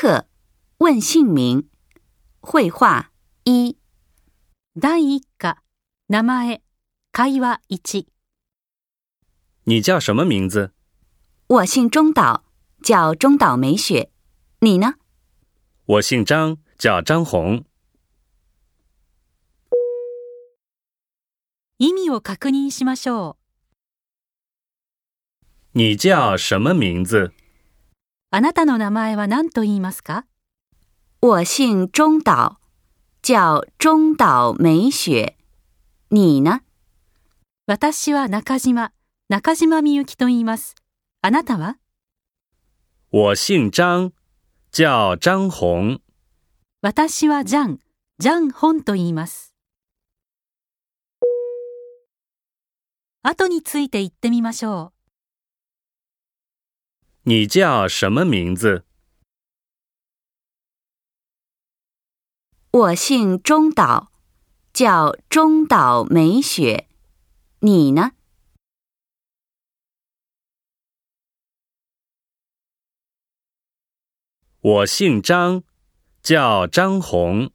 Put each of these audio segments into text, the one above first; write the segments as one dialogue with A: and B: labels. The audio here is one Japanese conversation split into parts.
A: 课，问姓名。绘画1。
B: 第一課、名前、会話1。
C: 你叫什么名字？
A: 我姓中岛，叫中岛美雪。你呢？
C: 我姓张，叫张红。
B: 意味を確認しましょう。
C: 你叫什么名字？
B: あなたの名前は何と言いますか？
A: 我姓中岛，叫中岛美雪。你呢？
B: 私は中島みゆきと言います。あなたは？
C: 我姓张，叫张红。
B: 私はジャン本と言います。後について言ってみましょう。
C: 你叫什么名字？
A: 我姓中岛，叫中岛美雪。你呢？
C: 我姓张，叫张红。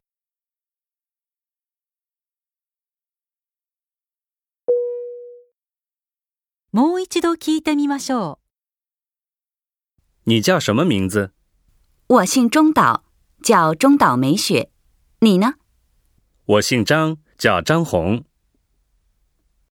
B: もう一度聞いてみましょう。
C: 你叫什么名字？
A: 我姓中岛，叫中岛美雪。你呢？
C: 我姓张，叫张红。